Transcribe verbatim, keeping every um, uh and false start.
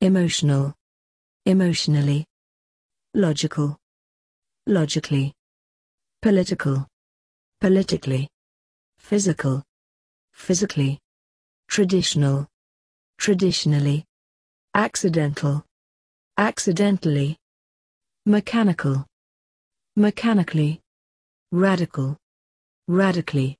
emotional, emotionally, logical, logically, political, politically, physical, physically, traditional, traditionally, accidental, accidentally, mechanical, mechanically, radical, radically,